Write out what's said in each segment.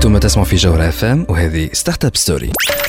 انتم تسمعوا في جوهرة FM وهذه ستارت اب ستوري.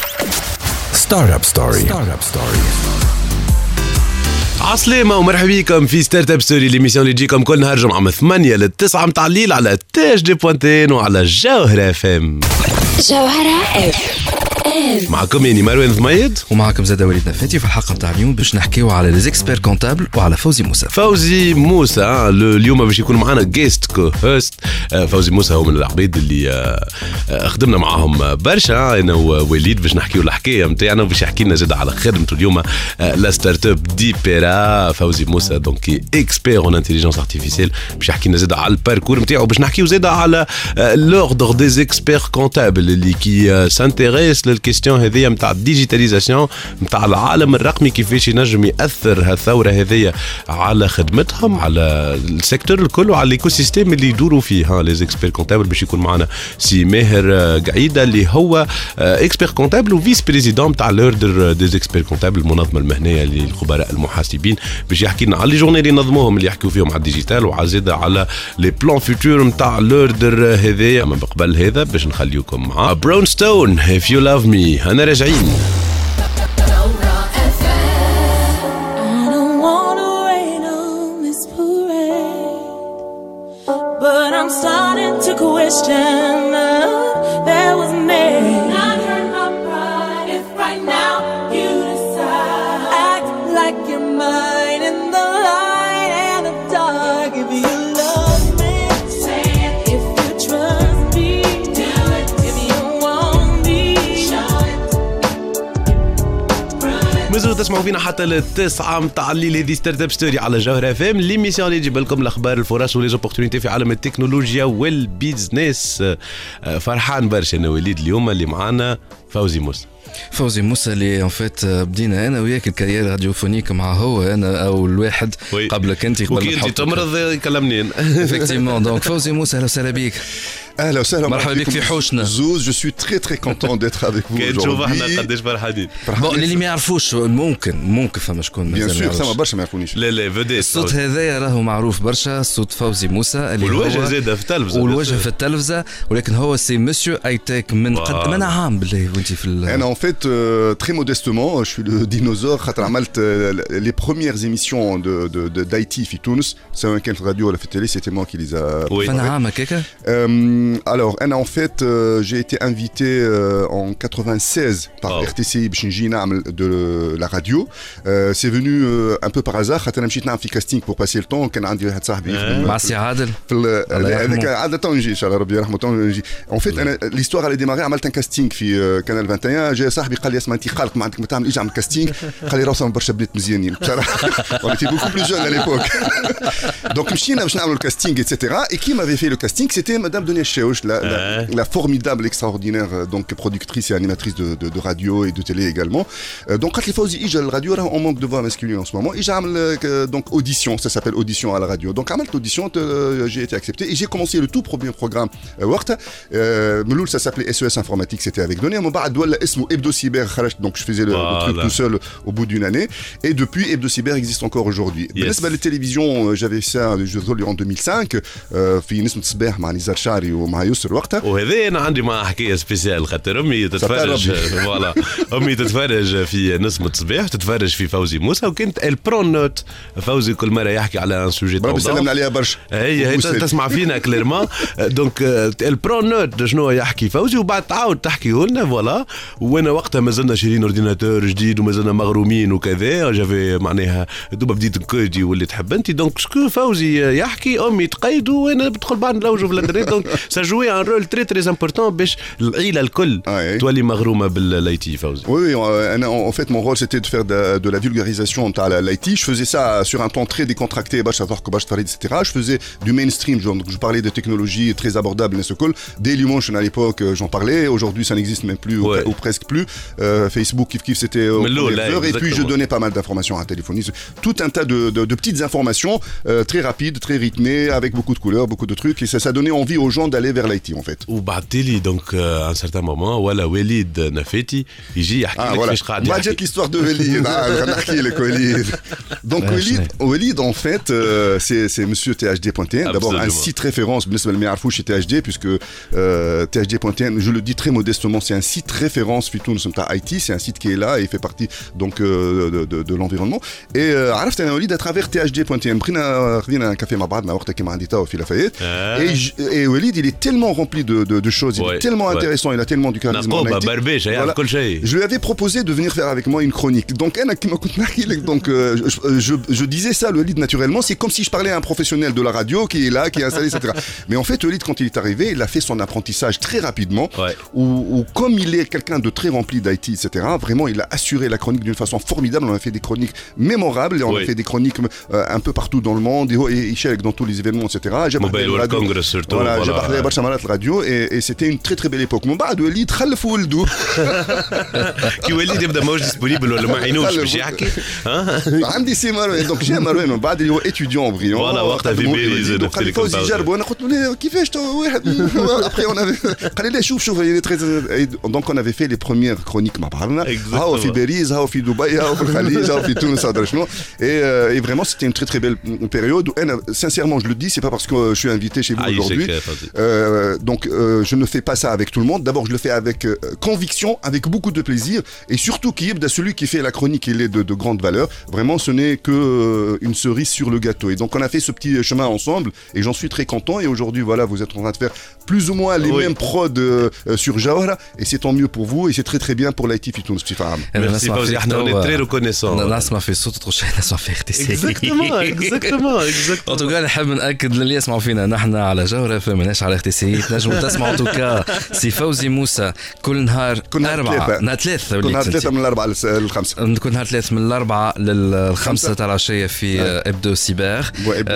عسلامة ومرحبا بكم في ستارت اب ستوري، ليميسيون اللي تجيكم كل نهار جمعة من 8 ل 9 متاع الليل على تاج دي بوانتين وعلى جوهرة FM. جوهرة FM معكم يعني مروان ضميد ومعكم زاد وليد نفاتي. في الحلقة متاع اليوم باش نحكيو على لي زيكسبير كونتابل وعلى فوزي موسى. اليوم باش يكون معنا جيست كو هوست. فوزي موسى هو من العباد اللي خدمنا معاهم برشا انا ووليد باش نحكيو الحكايه نتاعنا، وباش يحكي لنا زاد على خدمته اليوم لا ستارت اب دي بيرا. فوزي موسى دونك اكسبير اون انتيليجنس ارتيفيسيال، باش يحكي لنا زاد على الباركور نتاعو، باش نحكيو زاد على لوردر دي زيكسبير كونتابل اللي كي سانتيريس للكيستيون هذه نتاع الديجيتاليزاسيون نتاع العالم الرقمي، كيفاش ينجم ياثر هالثوره هذه على خدمتهم، على السيكتور الكل وعلى الايكو سيستيم اللي يدوروا فيه. لي زيكسبير كونتابل باش يكون معنا سي ماهر قعيده اللي هو اكسبير كونتابل وفيس بريزيدون نتاع لوردر دي زيكسبير كونتابل، المنظمه المهنيه للخبراء المحاسبين، باش يحكي لنا على لي جورني اللي نظموهم اللي يحكيو فيهم على الديجيتال، وعزيد على لي بلان فيتور نتاع لوردر هذايا. من قبل هذا باش نخليكم مع براون ستون if you love me. انا راجعين. But I'm starting to question there was me. Not hurt my pride if right now you decide act like you're mine in the light and the dark. If you love me, say it. If you trust me, do it. If you want me, show it. مازالوا تسمعوا فينا حتى للتسعة متاع الليل. هذه ستارت اب ستوري على جوهرة FM، ليميسيون اللي تجيب لكم الاخبار الفرص وليزوبورتونيتي في عالم التكنولوجيا والبيزنس. فرحان برشا انا وليد اليوم اللي معانا فوزي موسى اللي ان فيت بدينا انا وياك الكارير راديوفونيك مع هو انا او الواحد قبلك انت قبل ما تمرض يكلمني افكتيمون. دونك فوزي موسى اهلا وسهلا بك. اهلا وسهلا مرحبا بك في حوشنا زوز. جو سوي تري تري كونتون ديتر افيك فو. نشوف احنا قداش فرحانين. بون اللي ما يعرفوش ممكن فما شكون بيان سور فما برشا ما يعرفونيش. لا فودي الصوت هذايا راهو معروف برشا، صوت فوزي موسى اللي والوجه زاد في التلفزه ولكن هو سي مسيو ايتيك من قد من عام بالله وانت في انا en fait très modestement je suis le dinosaure خاطر عملت les premières émissions de d'IT في تونس سواء كانت راديو ولا في التلي c'était moi qui les a. فانا عام هكاك. alors en fait j'ai été invité en 96 par RTCI باش نجي نعمل de la radio. c'est venu un peu par hasard خاطر انا مشيت نعمل في كاستينغ pour passer le temps. كان عندي واحد صاحبي مع سي عادل هذاك عادة نجي ان شاء الله ربي يرحمه نجي. en fait انا l'histoire allait démarrer عملت un casting في كانال 21. جاء صاحبي قال لي اسمع انت قالق ما عندك ما تعمل ايش اعمل كاستينغ. قال لي راهم برشا بنات مزيانين بصراحه. on était beaucoup plus jeunes à l'époque. donc مشينا باش نعملوا الكاستينغ etc. et qui m'avait fait le casting c'était madame Dunia Cheuch, la formidable, extraordinaire donc productrice et animatrice de radio et de télé également. Donc quand les Fawzi ija la radio on manque de voix masculine en ce moment. Et j'ai donc audition, ça s'appelle audition à la radio. Donc عملت l'audition, j'ai été accepté et j'ai commencé le tout premier programme وقتها. ملول ça s'appelait SES informatique, c'était avec Dunia. من بعد ولا اسمه Hebdo Cyber خرجت, donc je faisais le truc tout seul au bout d'une année. Et depuis Hebdo Cyber existe encore aujourd'hui. بالنسبة للتلفزيون j'avais ça en 2005 في نسمة صباح مع نزار شعري ومع يسر وقتها. وهذا انا عندي معاه حكايه سبيسيال خاطر امي تتفرج فوالا امي تتفرج في نسمة صباح تتفرج في فوزي موسى وكانت البرون نوت. فوزي كل مره يحكي على ان سوجي ربي سلمنا عليها برشا. هي تسمع فينا كليرمون. دونك البرون نوت شنو يحكي فوزي وبعد تعاود تحكيه لنا فوالا. وانا وقتها مازلنا شارين اورديناتور جديد ومازلنا مغرومين وكذا. جافي معناها دوبا بديت نكودي واللي تحب انت. دونك شكون فوزي يحكي امي تقيد وانا بدخل بعد نلوجوا في الانترنت. دونك سا جوي ان رول تري تري امبورطون باش العيله الكل تولي مغرومه بالايتي فوزي. Oui, en fait mon rôle c'était de faire de la vulgarisation تاع l'IT. Je faisais ça sur un ton très décontracté باش تعرف باش تفريد etc. Je faisais du mainstream, donc je parlais de technologies très abordables et ce cool. Dailymotion à l'époque j'en parlais. Aujourd'hui ça n'existe même plus ou presque plus. Facebook kif c'était au et puis je donnais pas mal d'informations à téléphonie, tout un tas de petites informations très rapides, très rythmées, avec beaucoup de couleurs, beaucoup de trucs, et ça donnait envie aux gens aller vers l'IT en fait. وبعثت لي دونك ان سارتان مومون ولا وليد نفاتي يجي يحكي لك كيفاش قاعد ما جات l'histoire de Walid. خلينا نحكي لك وليد. Donc Walid en fait c'est monsieur THD.tn, d'abord un site référence بالنسبه للي ما يعرفوش THD puisque THD.tn, je le dis très modestement, c'est un site référence في تونس نتاع IT, c'est un site qui est là et fait partie donc de l'environnement. Et عرفت انا وليد à travers THD.tn. بقينا خذينا كافي مع بعضنا وقتها كيما عندي توا في لافايت. Et Walid il est tellement rempli de choses, il est tellement intéressant, il a tellement du charisme. Je lui avais proposé de venir faire avec moi une chronique. Donc donc je disais ça, le Walid naturellement, c'est comme si je parlais à un professionnel de la radio qui est là, qui est installé, etc. Mais en fait, Walid, quand il est arrivé, il a fait son apprentissage très rapidement. Où comme il est quelqu'un de très rempli d'IT, etc. Vraiment, il a assuré la chronique d'une façon formidable. On a fait des chroniques mémorables et on a fait des chroniques un peu partout dans le monde. Et Ishaq dans tous les événements, etc. Mobile World Congress surtout. Voilà, j'ai parlé à Barchamanat radio et c'était une très très belle époque. Mon بعد وليد خلف ولده. كي وليد يبدا ماهوش ديسبونيبل ولا ما عينوش باش يحكي. عندي سي مروان دونك جا مروان من بعد اللي هو étudiant brillant. Voilà, وقتها في بيريز قال لي فوزي جرب وانا قلت له كيفاش تو واحد. Après on avait قال لي شوف il est très donc on avait fait les premières chroniques مع بعضنا. هاو في باريس هاو في دبي هاو في الخليج هاو في تونس هذا شنو. Et vraiment c'était une très très belle période. Sincèrement je le dis, c'est pas parce que je suis invité chez vous aujourd'hui. Donc je ne fais pas ça avec tout le monde. D'abord je le fais avec conviction, avec beaucoup de plaisir et surtout qui est celui qui fait la chronique, il est de grande valeur. Vraiment ce n'est que une cerise sur le gâteau. Et donc on a fait ce petit chemin ensemble et j'en suis très content. Et aujourd'hui voilà, vous êtes en train de faire plus ou moins les mêmes prods sur Jawhara et c'est tant mieux pour vous et c'est très très bien pour l'IT في تونس بصفة عامة. Merci Fawzi, on est très reconnaissant. نسمع في صوت تخش نسمع في اغتسال. Exactement. En tout cas نحب نأكد للي يسمعوا فينا نحن على جوهرة فماناش على اغتسالية. نجموا تسمعوا توكا سي فوزي موسى كل نهار أربعة نهار ثلاثة كل نهار ثلاثة من الأربعة للخمسة كل نهار ثلاثة من الأربعة للخمسة تاع العشية في ابدو سيبر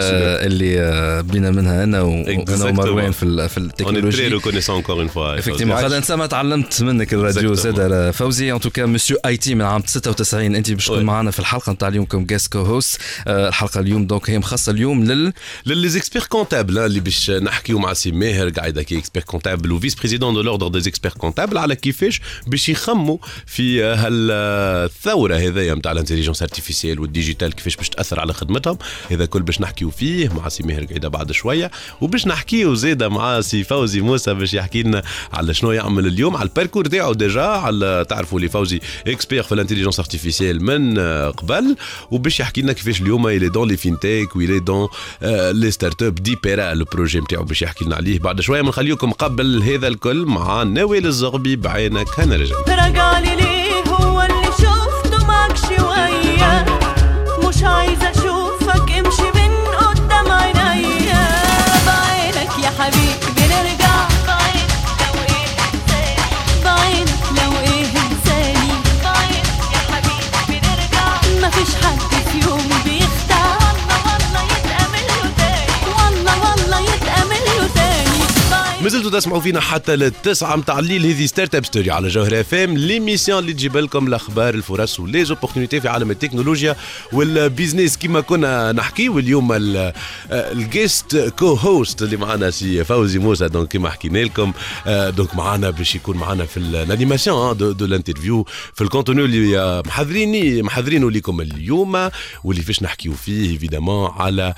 اللي بينا منها أنا ومروان في التكنولوجيا. effectivement هذا أنت ما تعلمت منك الراديو زاد فوزي. en tout cas monsieur IT من عام 96 أنت باش تكون معنا في الحلقة نتاع اليوم كم guest co-host. الحلقة اليوم دونك هي مخصصة اليوم للي اكسبير كونتابل اللي باش نحكيو مع سي ماهر قاعد كي اكسبير كونتابل وفيس بريزيدون دو لوردر دي اكسبير كونتابل على كيفاش باش يخموا في هالثوره هذيا نتاع الانتيليجنس ارتيفيسيال والديجيتال كيفاش باش تاثر على خدمتهم. هذا كل باش نحكيو فيه مع سي ماهر قاعده بعد شويه وباش نحكيو زاده مع سي فوزي موسى باش يحكي لنا على شنو يعمل اليوم على الباركور تاعو ديجا على تعرفوا لي فوزي اكسبير في الانتيليجنس ارتيفيسيال من قبل وباش يحكي لنا كيفاش اليوم يلي دون لي فينتيك ويلي دون لي ستارت اب ديبيرا البروجي نتاعو باش يحكي لنا عليه بعد شويه. بنخليكم قبل هذا الكل مع نوال الزغبي بعينك هنرجع. رجالي ليه هو اللي شفته معك شويه مش عايزه اشوفك امشي من قدام عينيا بعينك يا حبيبي بنرجع بعينك لو ايه انساني بعينك لو ايه انساني بعينك يا حبيبي بنرجع مفيش حد في يوم بيختار والله يتأمل له تاني والله يتأمل له تاني. مازلتوا تسمعوا فينا حتى للتسعة متاع الليل. هذه ستارت اب ستوري على جوهر اف ام ليميسيون اللي تجيب لكم الاخبار الفرص وليزوبورتينيتي في عالم التكنولوجيا والبيزنس كما كنا نحكي. واليوم الجيست كو هوست اللي معنا سي فوزي موسى دونك كما حكينا لكم دونك معنا باش يكون معنا في الانيماسيون دو الانترفيو في الكونتوني اللي محضرينه لكم اليوم واللي فاش نحكيو فيه ايفيدامون على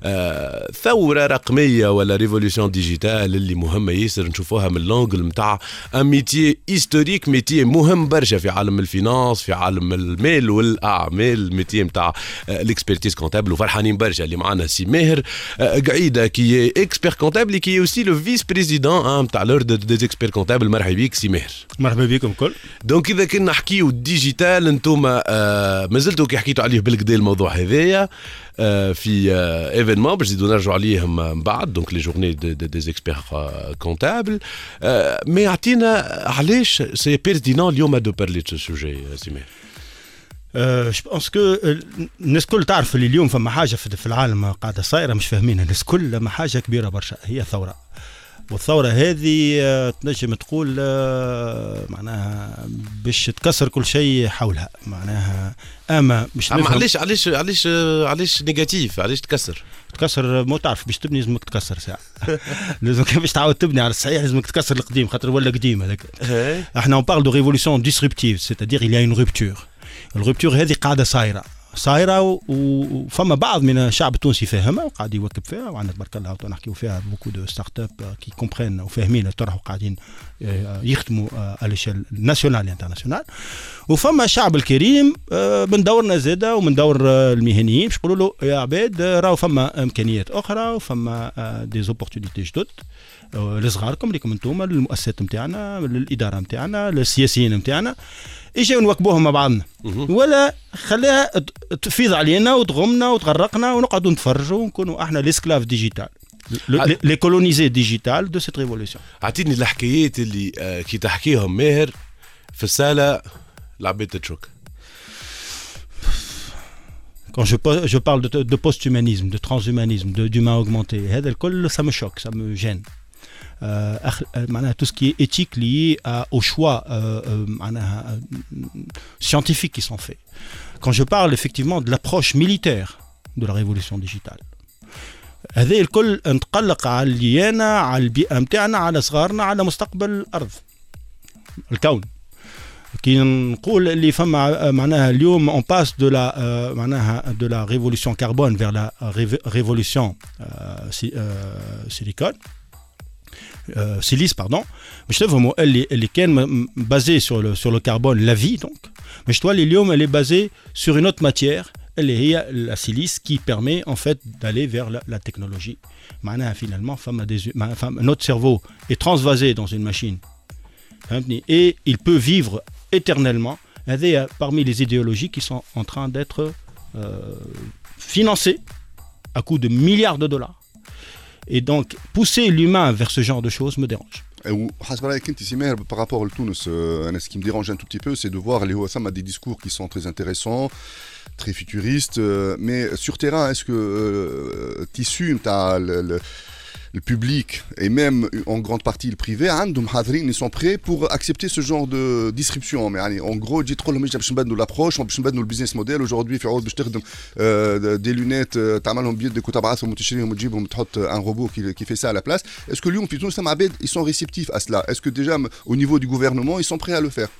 ثوره رقميه ولا ريفولوشن ديجيتال اللي مهمه ياسر نشوفوها من لونجل نتاع ان ميتي هيستوريك ميتي مهم برشا في عالم الفينانس في عالم المال والاعمال ميتي نتاع الاكسبرتيز كونتابل وفرحانين برشا اللي معنا سي ماهر قعيده كي اكسبير كونتابل كي اوسي لو فيس بريزيدون نتاع لوردر دي اكسبير كونتابل. مرحبا بك سي ماهر. مرحبا بكم كل. دونك اذا كنا نحكيو ديجيتال انتم مازلتوا كي حكيتوا عليه بالكدا الموضوع هذايا في ايفينمون باش نزيدو نرجعوا عليهم من بعد دونك لي جورني دي اكسبير كونتابل. مي عطينا علاش سي بيرتينون اليوم دو بارلي دو سوجي سي ماهر. جو بونس كو الناس كل تعرف اللي اليوم فما حاجه في العالم قاعده صايره مش فاهمينها الناس كل ما حاجه كبيره برشا هي ثوره. والثورة هذه تنجم تقول معناها باش تكسر كل شيء حولها معناها اما مش علاش نيجاتيف علاش تكسر ما تعرف باش تبني لازمك تكسر ساعة لازم باش تعاود تبني على الصحيح لازمك تكسر القديم خاطر ولا قديم هذاك احنا on parle de révolution disruptive c'est-à-dire il y a une rupture الرupture هذه قاعدة صايرة وفما بعض من الشعب التونسي فاهمها وقاعد يواكب فيها وعندنا تبارك الله نحكيو فيها بوكو دو ستارت اب كي كومبرين وفاهمين الطرح وقاعدين يخدموا على ليشيل ناسيونال انترناسيونال وفما الشعب الكريم من دورنا زاده ومن دور المهنيين باش يقولوا له يا عباد راهو فما امكانيات اخرى وفما دي زوبورتونيتي جدد لصغاركم ليكم انتم للمؤسسات نتاعنا للاداره نتاعنا للسياسيين نتاعنا اجي نواكبوهم مع بعضنا ولا خليها تفيض علينا وتغمنا وتغرقنا ونقعدوا نتفرجوا ونكونوا احنا ليسكلاف ديجيتال لي كولونيزي ديجيتال دو سيت ريفولوسيون. اعطيني الحكايات اللي كي تحكيهم ماهر في الساله العباد تتشك. Quand je parle de post-humanisme, de transhumanisme, d'humain augmenté, ça me choque, ça me gêne. Tout ce qui est éthique lié au choix scientifiques qui sont faits. Quand je parle effectivement de l'approche militaire de la révolution digitale, هذا الكل نتقلق علينا على البيئة متاعنا على صغارنا على مستقبل الأرض الكون. كي نقول اللي فما معناها اليوم on passe de la معناها de la révolution carbone vers la révolution silicone silice pardon باش تفهموا اللي كان basé sur le carbone la vie donc باش تولي اليوم elle est basée sur une autre matière اللي هي la silice qui permet en fait d'aller vers la technologie معناها finalement notre cerveau est transvasé dans une machine et il peut vivre éternellement. هذه parmi les idéologies qui sont en train d'être financées à coût de milliards de dollars. Et donc pousser l'humain vers ce genre de choses me dérange. حسب رايك انت سمير par rapport à Tunis, ce qui me dérange un tout petit peu c'est de voir les OSM des discours qui sont très intéressants, très futuristes, mais sur terrain est-ce que tissu le public et même en grande partie le privé ils sont prêts pour accepter ce genre de disruption. Mais en gros dit trop باش نبدلوا l'approche باش نبدلوا البيزنس موديل aujourd'hui في عود باش تخدم des lunettes تعملهم بيدك وتبعثهم وتشريهم وتجيبهم تحط un robot qui fait ça à la place. Est-ce que اليوم في تونس عباد ils sont réceptifs à cela? Est-ce que déjà au niveau du gouvernement ils sont prêts à le faire?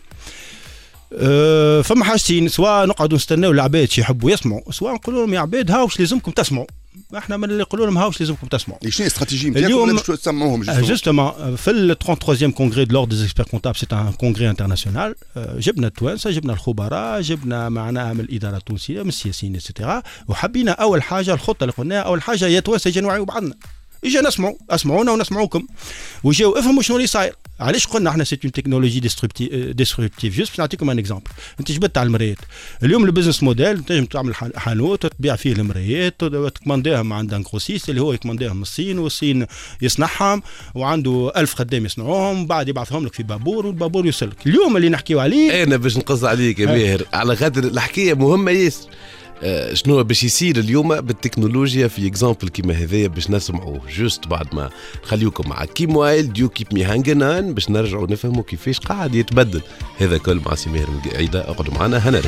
فما حاجتين سواء نقعدوا نستناو العباد شي يحبوا يسمعوا سواء نقولوا لهم يا عباد هاو واش لازمكم تسمعوا احنا من اللي نقولوا لهم هاوش لازمكم تسمعوا. شنو الاستراتيجيه نتاعكم باش تسمعوهم جوستومون في ال 33e congrès de l'ordre des experts comptables c'est un congrès international جبنا التوانسه جبنا الخبراء جبنا معنا من الاداره التونسيه من السياسيين اكسترا وحبينا اول حاجه الخطه اللي قلناها اول حاجه يا توانسه يجي نوعيوا بعضنا اجا نسمعوا اسمعونا ونسمعوكم وجاو افهموا شنو اللي صاير. علاش قلنا احنا سيت اون تكنولوجي ديستركتيف جوست باش نعطيكم ان اكزامبل. انت جبت على المرايات اليوم البزنس موديل تنجم تعمل حانوت وتبيع فيه المرايات وتكمانديهم عند ان كروسيست اللي هو يكمانديهم من الصين والصين يصنعهم وعنده 1000 خدام يصنعوهم بعد يبعثهم لك في بابور والبابور يوصلك. اليوم اللي نحكيو عليه انا باش نقص عليك يا ماهر على خاطر الحكايه مهمه ياسر. شنو باش يصير اليوم بالتكنولوجيا في اكزامبل كيما هذايا باش نسمعوه جوست بعد ما نخليوكم مع كيموايل ديو كيب مي هانجنان باش نرجعوا نفهموا كيفاش قاعد يتبدل هذا كل مع سمير عيدة. اقعدوا معنا هنرجع.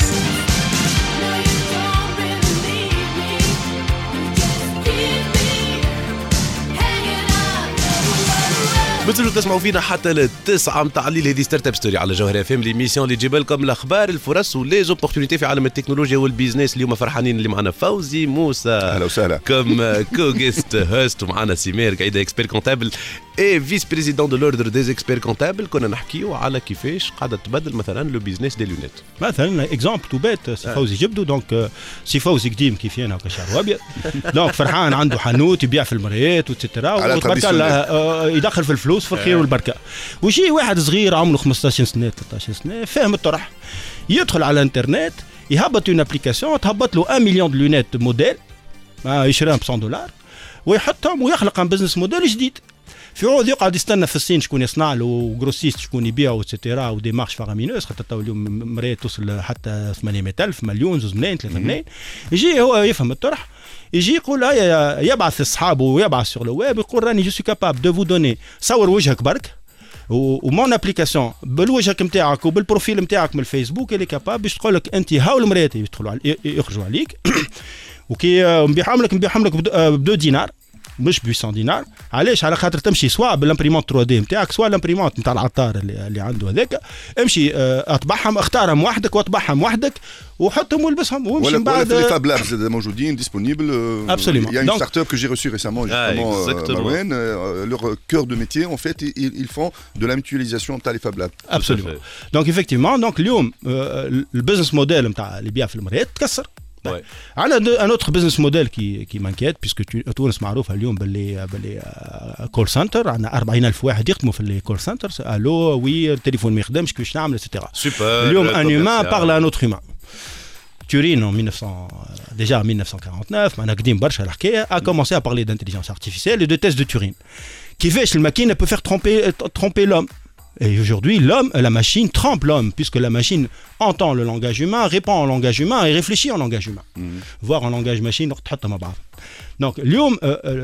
بتزلوا تسمعوا فينا حتى للتسعة متاع الليل. هذه ستارت اب ستوري على جوهر اف ام ليميسيون اللي تجيب لكم الاخبار الفرص وليزوبورتونيتي في عالم التكنولوجيا والبيزنس. اليوم فرحانين اللي معنا فوزي موسى اهلا وسهلا كم كو جيست هوست ومعنا سمير قايده اكسبير كونتابل اي فيس بريزيدون دو لوردر ديز اكسبير كونتابل. كنا نحكيو على كيفاش قاعده تبدل مثلا لو بيزنس دي لونيت. مثلا اكزامبل تو بيت فوزي جبدو دونك سي فوزي قديم كيف انا كشعر ابيض دونك فرحان عنده حانوت يبيع في المرايات وتترا يدخل في الفلوس في الخير والبركه. وشي واحد صغير عمره 15 سنه 13 سنه فاهم الطرح يدخل على الانترنت يهبط اون ابليكاسيون تهبط له 1 مليون لونيت موديل يشريهم ب $100 ويحطهم ويخلق ان بزنس موديل جديد. في عوض يقعد يستنى في الصين شكون يصنع له وغروسيست شكون يبيع واتسيتيرا ودي مارش فارامينوس خاطر تو اليوم مريت توصل حتى 800,000 مليون 2 ملايين 3 ملايين يجي هو يفهم الطرح يجي يقول يبعث اصحابه ويبعث سور لو ويب يقول راني جو سو كابابل دو فو دوني صور وجهك برك ومون ابليكاسيون بالوجهك نتاعك وبالبروفيل نتاعك من الفيسبوك اللي كاباب باش تقول لك انت هاو المريات يدخلوا يخرجوا عليك وكي نبيعهم لك ب 2 دينار مش ب 800 دينار علاش على خاطر تمشي سواء بالامبريمونت 3 دي نتاعك سواء الامبريمونت نتاع العطار اللي عنده هذاك امشي اطبعهم اختارهم وحدك واطبعهم وحدك وحطهم والبسهم وامشي من بعد ولا في الفاب لابس موجودين ديسپونيبل Absolument. Il y a une start-up que j'ai reçue récemment justement Marouane leur cœur de métier en fait ils font de la mutualisation نتاع les fab labs. Absolument. Donc effectivement donc اليوم البزنس موديل نتاع اللي بيع في المرايات تكسر. عندنا ان اوتر بزنس موديل كي مانكيت بيسكو تونس معروفه اليوم باللي كول سنتر عندنا 40,000 واحد يخدموا في الكول سنتر الو وي التليفون ما يخدمش كيفاش نعمل اتسيتيرا اليوم ان هيومان بارل ان اوتر هيومان Turin en 1949 معناها قديم برشا الحكايه a commencé à parler d'intelligence artificielle et de tests de Turing كيفاش الماكينه peut faire tromper l'homme. Et aujourd'hui, la machine trompe l'homme, puisque la machine entend le langage humain, répond au langage humain et réfléchit en langage humain. Voire en langage machine, donc, اليوم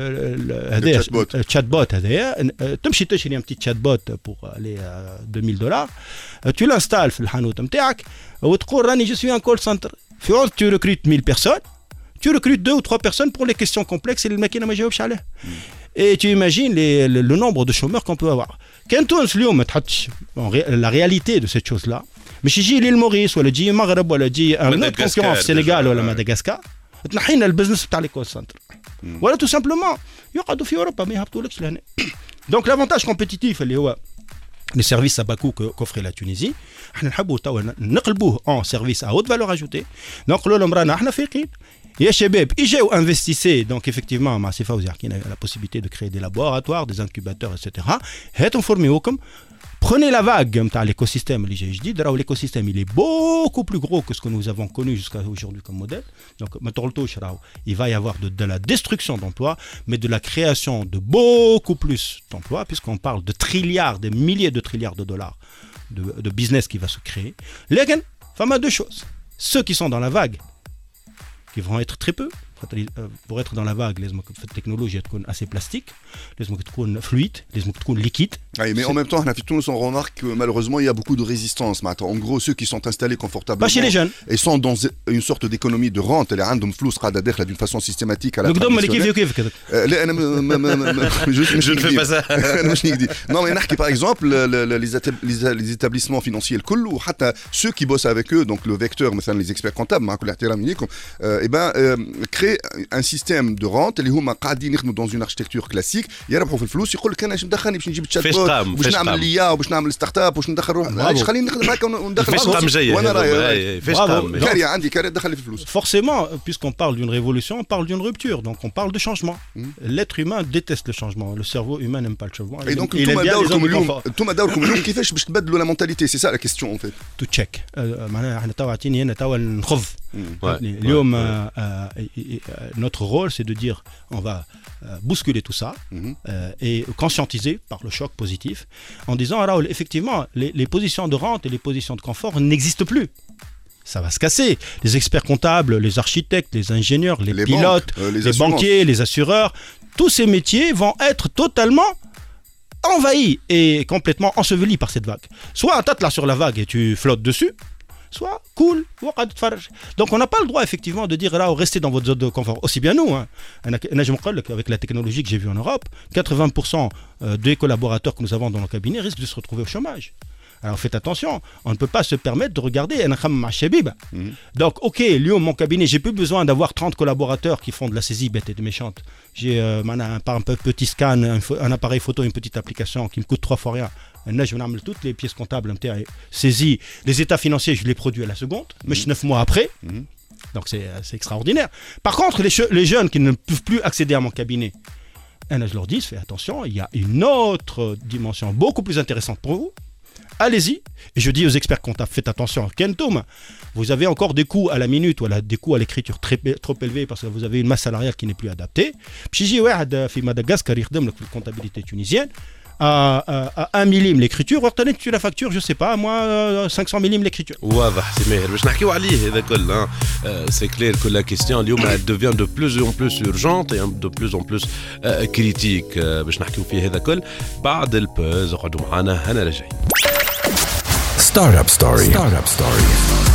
le chatbot, تمشي تشري un petit chatbot pour les $2,000, tu l'installes في الحانوت نتاعك وتقول راني je suis un call center. في عوض tu recrutes 1000 personnes, tu recrutes 2 ou 3 personnes pour les questions complexes et الماكينة ما جاوبش عليها. Et tu imagines le nombre de chômeurs qu'on peut avoir. Quand on se la réalité de cette chose-là, mais si j'ai l'île Maurice, ou le Maghreb, ou le un autre concurrent au Sénégal, ou le Madagascar, تنحينا البزنس بتاع لي كول سنتر. ولا tout simplement يقعدوا في أوروبا ما يهبطولكش لهنا. Donc l'avantage compétitif اللي هو les services à bas coût qu'offrait la Tunisie, احنا نحبوا توا نقلبوه en service à haute valeur ajoutée. نقولوا لهم رانا احنا فايقين. يا شباب اجاو انفستيسي دونك افكتيفمون مع سي فوزي حكينا لا بوسيبيليتي دو كريي دي لابوراتوار دي انكوباتور ايتترا هاتوا نفورميوكم prenez la vague نتاع l'écosystème اللي جاي جديد راهو l'écosystème il est beaucoup plus gros que ce que nous avons connu jusqu'à aujourd'hui comme modèle donc ما تغلطوش راهو il va y avoir de la destruction d'emplois mais de la création de beaucoup plus d'emplois puisqu'on parle de trilliards des milliers de trilliards de dollars de business qui va se créer لكن فما deux choses ceux qui sont dans la vague qui vont être très peu pour être dans la vague لازمك في التكنولوجيا تكون assez plastique لازمك تكون fluide لازمك تكون liquide. Oui, mais en même temps, on remarque que malheureusement il y a beaucoup de résistance. En gros, ceux qui sont installés confortablement chez les jeunes. Et sont dans une sorte d'économie de rente, les عندهم فلوس قاعدة داخلة d'une façon systématique à la traditionnelle. لا أنا je ne fais pas ça. Non mais نحكي par exemple les établissements financiers الكل وحتى ceux qui bossent avec eux donc le vecteur مثلا les experts comptables مع كل احترامي ليكم et ben créent un système de rente اللي هما قاعدين يخدموا dans une architecture classique يربحوا في الفلوس يقول لك انا ايش مدخلني باش نجيب الشات بوت باش نعمل ليا وباش نعمل ستارت اب باش ندخل روح علاش خليني نخدم هكا وندخل فاش قام جاي وانا راي فاش قام كاري عندي كاري دخل في الفلوس. Forcément puisqu'on parle d'une révolution on parle d'une rupture donc on parle de changement. L'être humain déteste le changement le cerveau humain n'aime pas le changement. Et donc انتم دوركم اليوم كيفاش باش تبدلوا la mentalité c'est ça la question en fait. To check معناها احنا توا عطيني هنا توا نخض اليوم notre rôle c'est de dire on va bousculer tout ça et conscientiser par le choc positif en disant Raoul effectivement les positions de rente et les positions de confort n'existent plus. Ça va se casser. Les experts comptables, les architectes, les ingénieurs, les pilotes, les banquiers, les assureurs, tous ces métiers vont être totalement envahis et complètement ensevelis par cette vague. Soit tu là sur la vague et tu flottes dessus, soit cool, donc on n'a pas le droit effectivement de dire là restez dans votre zone de confort aussi bien nous avec la technologie que j'ai vue en Europe 80% des collaborateurs que nous avons dans nos cabinets risquent de se retrouver au chômage. Alors faites attention, on ne peut pas se permettre de regarder donc ok, mon cabinet, j'ai plus besoin d'avoir 30 collaborateurs qui font de la saisie bête et méchante. J'ai par un petit scan, un appareil photo, une petite application qui me coûte 3 fois rien. Là, je vais mettre toutes les pièces comptables saisies, les états financiers, je les produis à la seconde, mais 9 mois après. Donc c'est extraordinaire. Par contre, les jeunes qui ne peuvent plus accéder à mon cabinet, je leur dis, faites attention, il y a une autre dimension beaucoup plus intéressante pour vous. allez-y. Et je dis aux experts comptables, faites attention, Kentoum, vous avez encore des coûts à la minute ou des coûts à l'écriture trop élevés parce que vous avez une masse salariale qui n'est plus adaptée. Puis في Madagascar يخدم لك في الكونتابيلité tunisienne à 1 millime l'écriture, وقت tu la facture, je sais pas, moi 500 millim l'écriture. واضح سي ماهر باش نحكيو عليه هذا كل c'est clair que la question اليوم elle devient de plus en plus urgente et de plus en plus critique باش نحكيو فيه هذا كل بعد البوز. اقعدوا معنا هنا راجعين. Startup Story. Startup Story.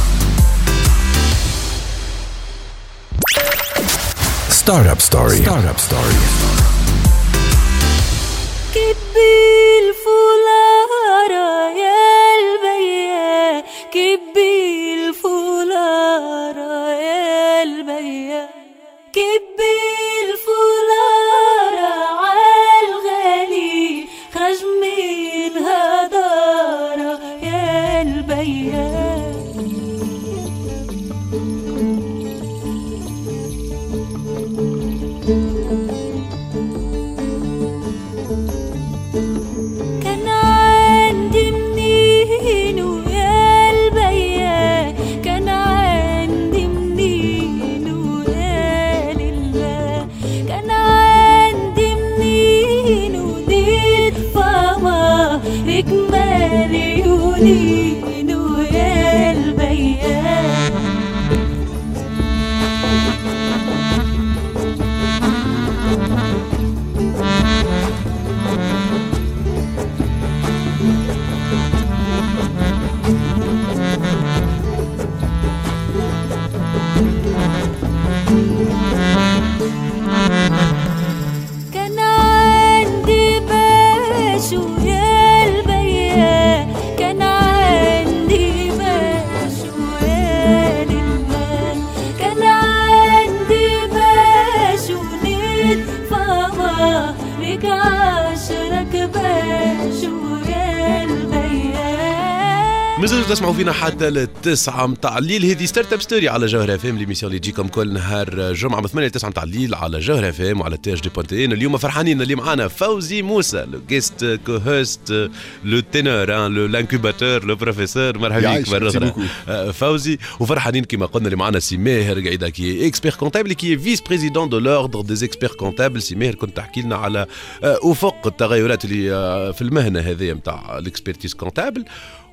Startup Story. Startup Story. كبي الفولارة يا البيا كبي الفولارة يا البيا كبي الفولارة عالغالي خرج منها دارة يا البيا مازالوا تسمعوا فينا حتى التسعة متاع الليل. هذه ستارت اب ستوري على جوهر اف ام، ليميسيون اللي تجيكم كل نهار جمعة من 8 ل 9 متاع الليل على جوهر اف ام وعلى تي اش دي بوانتين. اليوم فرحانين اللي معانا فوزي موسى، لو جيست كو هوست، لو تينور، لانكوباتور، لو بروفيسور. مرحبا بك مرة أخرى فوزي. وفرحانين كما قلنا اللي معانا سي ماهر قاعدة كي اكسبير كونتابل كي فيس بريزيدون دو لوردر دي اكسبير كونتابل. سي ماهر كنت تحكي لنا على افق التغيرات اللي في المهنة هذه متاع الاكسبيرتيز كونتابل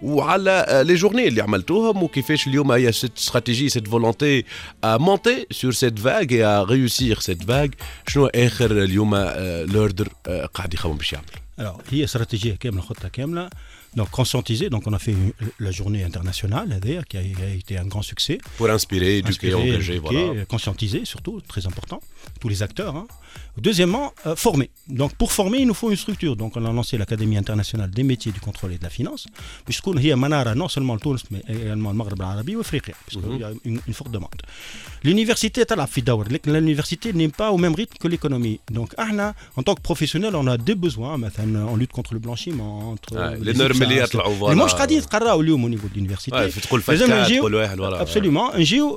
وعلى لي جورني اللي عملتوهم وكيفاش اليوم هي سيت استراتيجي سيت فولونتي ا مونتي سور سيت فاغ اي ا ريوسير سيت فاغ. شنو اخر اليوم لوردر قاعد يخمم باش يعمل؟ Alors, هي استراتيجيه كامله، خطه كامله. Donc conscientiser, donc on a fait la journée internationale qui a été un grand succès. Pour inspirer, éduquer, engager, voilà. Conscientiser surtout, très important, tous les acteurs. Hein. Deuxièmement, former. Donc pour former, il nous faut une structure. Donc on a lancé l'Académie internationale des métiers du contrôle et de la finance. Puisqu'on y a manara non seulement le Tunis, mais également le Maghreb arabe ou Afrique, puisqu'il y a une forte demande. L'université est à la fidaour. L'université n'est pas au même rythme que l'économie. Donc en tant que professionnel, on a des besoins. On lutte contre le blanchiment, entre les normes اللي يطلعوا فوالا. المهم قاعدين يتقراو اليوم au niveau de l'université. تقول فكات تقول واحد ولا. Absolument.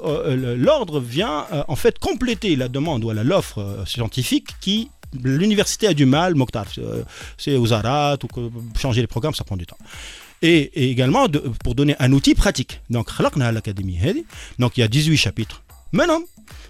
L'ordre vient en fait compléter la demande ou l'offre scientifique qui l'université a du mal. Mokhtar, c'est aux Arat ou changer les programmes, ça prend du temps. Et également pour donner un outil pratique. Donc خلقنا l'académie هذه. Donc il y a 18 chapitres. Maintenant,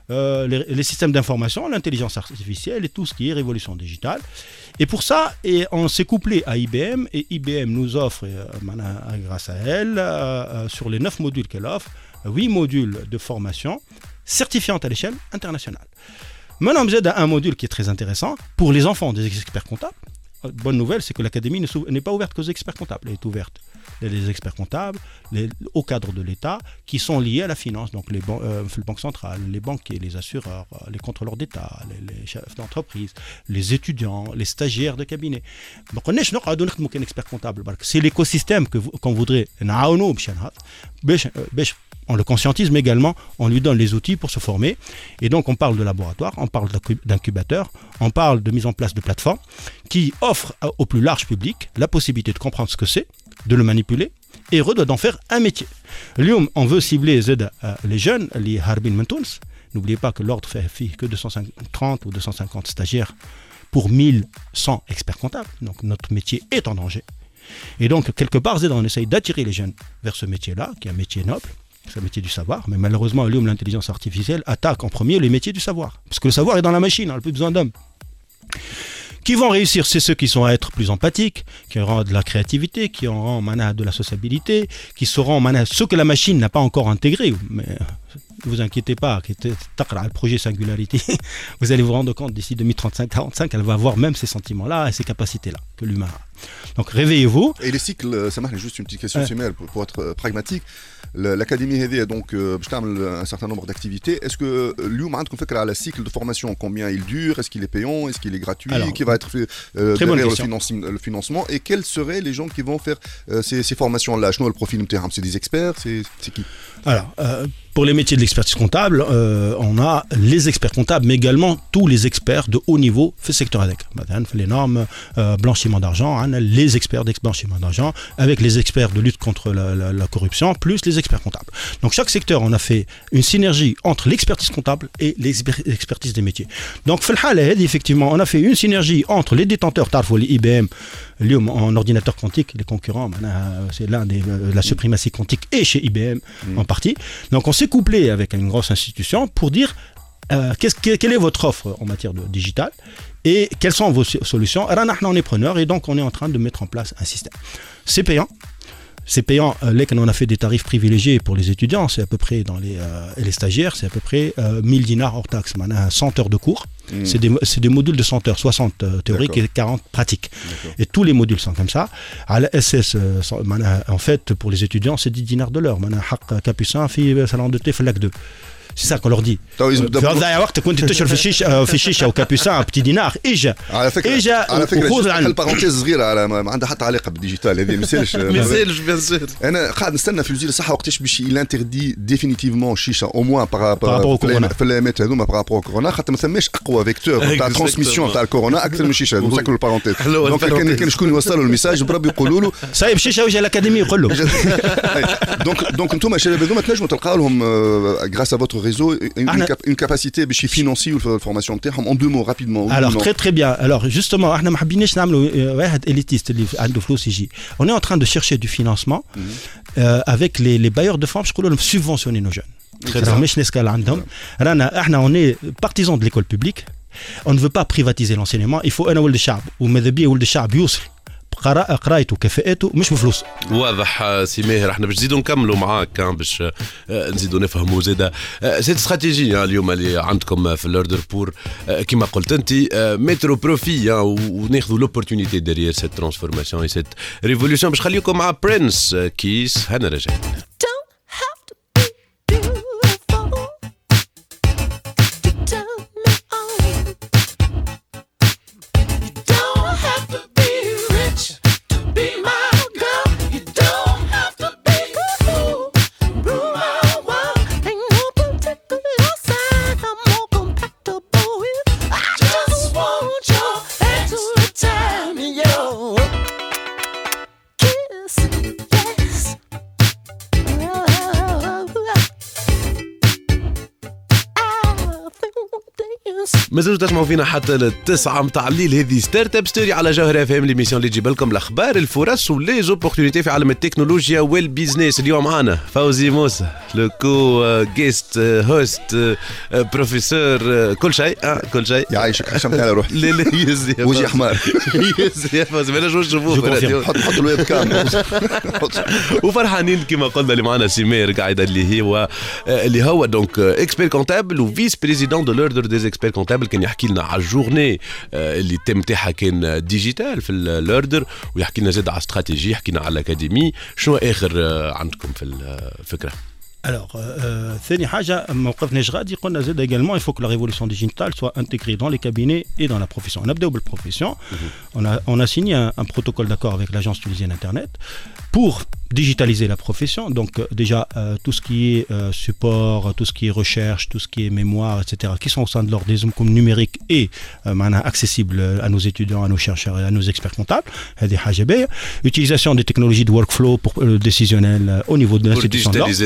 les systèmes d'information, l'intelligence artificielle et tout ce qui est révolution digitale. Et pour ça, on s'est couplé à IBM et IBM nous offre, grâce à elle, sur les 9 modules qu'elle offre, 8 modules de formation certifiante à l'échelle internationale. Maintenant, vous êtes à un module qui est très intéressant pour les enfants des experts comptables. Bonne nouvelle, c'est que l'académie n'est pas ouverte qu'aux experts comptables, elle est ouverte les experts comptables, au cadre de l'État, qui sont liés à la finance, donc les banques centrales, les banquiers, les assureurs, les contrôleurs d'État, les chefs d'entreprise, les étudiants, les stagiaires de cabinet. Donc on est expert comptable. C'est l'écosystème qu'on voudrait. On le conscientise, mais également on lui donne les outils pour se former. Et donc on parle de laboratoire, on parle d'incubateur, on parle de mise en place de plateformes qui offrent au plus large public la possibilité de comprendre ce que c'est, de le manipuler et d'en faire un métier. Lyon, on veut cibler les jeunes, les Harbin Mentouns. N'oubliez pas que l'ordre fait que 230 ou 250 stagiaires pour 1100 experts comptables. Donc notre métier est en danger. Et donc, quelque part, on essaye d'attirer les jeunes vers ce métier-là, qui est un métier noble, c'est un métier du savoir. Mais malheureusement, l'intelligence artificielle attaque en premier les métiers du savoir. Parce que le savoir est dans la machine, on n'a plus besoin d'hommes. Qui vont réussir, c'est ceux qui sont à être plus empathiques, qui auront de la créativité, qui auront de la sociabilité, qui sauront ce que la machine n'a pas encore intégré. Mais ne vous inquiétez pas, le projet Singularity, vous allez vous rendre compte d'ici 2035-45, elle va avoir même ces sentiments-là et ces capacités-là que l'humain a. Donc réveillez-vous. Et les cycles, ça marche juste une petite question, pour être pragmatique. L'académie هذه donc باش تعمل un certain nombre d'activités. Est-ce que اليوم عندكم فكرة على cycle de formation, combien il dure, est-ce qu'il est payant, est-ce qu'il est gratuit, alors, qui va être fait derrière le financement, et quels seraient les gens qui vont faire ces formations-là? شنو البروفيل نتاعهم? C'est des experts, c'est qui? Alors, pour les métiers de l'expertise comptable, on a les experts comptables, mais également tous les experts de haut niveau في السيكتور هذاك. مثلا في les normes blanchiment d'argent, les experts d'exblanchiment d'argent, avec les experts de lutte contre la corruption, plus les experts comptables. Donc chaque secteur, on a fait une synergie entre l'expertise comptable et l'expertise des métiers. Donc في الحالة هذه, effectivement, on a fait une synergie entre les détenteurs, تعرفوا les IBM, اليوم en ordinateur quantique, les concurrents, c'est l'un des la suprématie quantique est chez IBM en partie. Donc on s'est couplé avec une grosse institution pour dire quelle est votre offre en matière de digital et quelles sont vos solutions. Alors on est preneur et donc on est en train de mettre en place un système. C'est payant. C'est payant. Là, on a fait des tarifs privilégiés pour les étudiants, c'est à peu près et les stagiaires, c'est à peu près 1000 dinars hors taxe. 100 heures de cours. C'est des modules de 100 heures, 60 théoriques et 40 pratiques. Et tous les modules sont comme ça. À la SS, en fait, pour les étudiants, c'est 10 dinars de l'heure. Capucin, fille, salon de thé, flac 2. C'est ça qu'on leur dit. في هذا الوقت كنت تشرب في الشيشه وكابوسان بتي دينار اجا على فكره البارونتيز صغيره ما عندها حتى علاقه بالديجيتال هذه ما يسالش بيان سور. انا قاعد نستنى في وزير الصحه وقتاش باش يلانتردي ديفينيتيفمون الشيشه او موان في الايامات هذوما بارابور كورونا, خاطر ما ثماش اقوى فيكتور تاع ترانسميسيون تاع الكورونا اكثر من الشيشه. نسكروا البارونتيز. دونك كان شكون يوصلوا الميساج بربي يقولوا له صايب الشيشه وجه الاكاديمي يقول له. دونك انتم الشباب هذوما تنجموا تلقاو لهم غراس ا فوتر réseau une capacité باش يفينانسيو الفورماسيون تاعهم en 2 mots rapidement. Alors très bien. Alors justement احنا ما حبيناش نعملوا واحد élitiste اللي عنده فلوس يجي. On est en train de chercher du financement avec les bailleurs de fonds باش يقولوا لهم subventionner nos jeunes. مش نسكال عندهم. احنا on est partisans de l'école publique. On ne veut pas privatiser l'enseignement. Il faut انا ولد الشعب وماذا بيه ولد الشعب يوصل قرايته كفاءته مش بفلوس. واضح سي ماهر. احنا باش نزيدوا نكملوا معاك باش نزيدوا نفهموا زاده سيت استراتيجيه اليوم اللي عندكم في الاوردر بور كما قلت انت مترو بروفي وناخذوا لوبورتونيتي ديريير سيت ترانسفورماسيون اي سيت ريفولوشن. باش خليكم مع برنس كيس هنا رجعنا. مازالوا تسمعوا فينا حتى للتسعة متاع الليل. هذه ستارت اب ستوري على جوهر اف ام, ليميسيون اللي تجيب لكم الاخبار, الفرص ولي زوبورتونيتي في عالم التكنولوجيا والبيزنس. اليوم معنا فوزي موسى, لو كو جيست هوست بروفيسور, كل شيء كل شيء. يعيشك حشمت على روحي. لا يزي وجه حمار. يزي يا فوزي, ما نجموش نشوفوه. حط الويب كام. وفرحانين كما قلنا اللي معنا سمير قاعده اللي هو دونك اكسبير كونتابل وفيس بريزيدون دو لوردر ديز اكسبير كونتابل. كان يحكي لنا على الجورني اللي تم تاعها كان ديجيتال في الاوردر, ويحكي لنا زاد على استراتيجي, يحكي لنا على الاكاديمي. شنو اخر عندكم في الفكره؟ Alors, ثاني حاجة موقفنا غادي قلنا زاد également il faut que la révolution digitale soit intégrée dans les cabinets et dans la profession. On a بداو بالprofession. On a signé un protocole d'accord avec l'agence tunisienne Internet pour digitaliser la profession. Donc déjà tout ce qui est support, tout ce qui est recherche, tout ce qui est mémoire, etc. qui sont au sein de l'ordre des zones numériques et accessibles à nos étudiants, à nos chercheurs et à nos experts comptables. هذه حاجة باهية. Utilisation des technologies de workflow pour décisionnel au niveau de l'institution. Pour digitaliser les process.